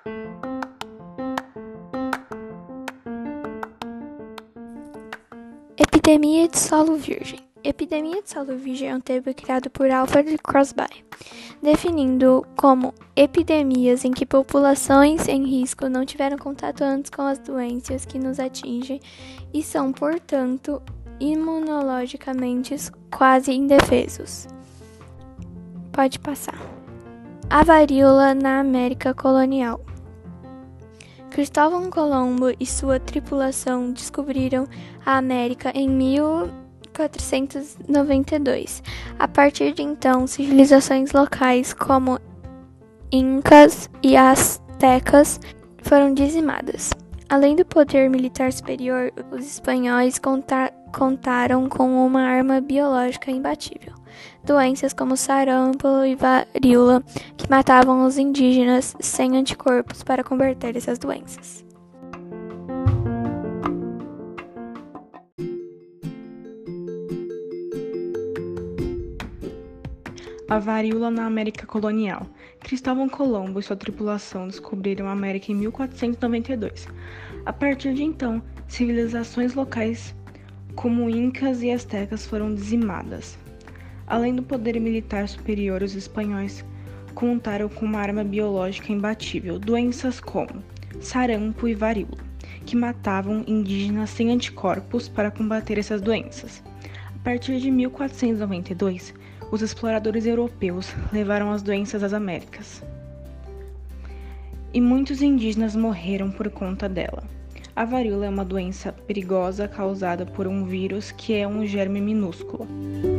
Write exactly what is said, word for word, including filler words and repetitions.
Epidemia de solo virgem. Epidemia de solo virgem é um termo criado por Alfred Crosby, definindo como epidemias em que populações em risco não tiveram contato antes com as doenças que nos atingem e são, portanto, imunologicamente quase indefesos. Pode passar. A varíola na América colonial. Cristóvão Colombo e sua tripulação descobriram a América em mil quatrocentos e noventa e dois. A partir de então, civilizações locais como incas e astecas foram dizimadas. Além do poder militar superior, os espanhóis conta- contaram com uma arma biológica imbatível. Doenças como sarampo e varíola que matavam os indígenas sem anticorpos para combater essas doenças. A varíola na América colonial. Cristóvão Colombo e sua tripulação descobriram a América em mil quatrocentos e noventa e dois. A partir de então, civilizações locais como incas e astecas foram dizimadas. Além do poder militar superior, os espanhóis contaram com uma arma biológica imbatível, doenças como sarampo e varíola, que matavam indígenas sem anticorpos para combater essas doenças. A partir de mil quatrocentos e noventa e dois, os exploradores europeus levaram as doenças às Américas. E muitos indígenas morreram por conta dela. A varíola é uma doença perigosa causada por um vírus que é um germe minúsculo.